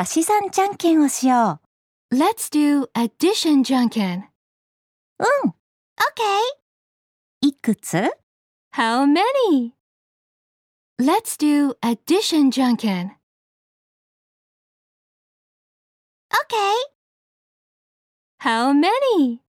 足し算じゃんけんをしよ Let's do addition じゃんけん。 う。うん。OK。いくつ？ How many? Let's do addition じゃんけん。 OK。 How many?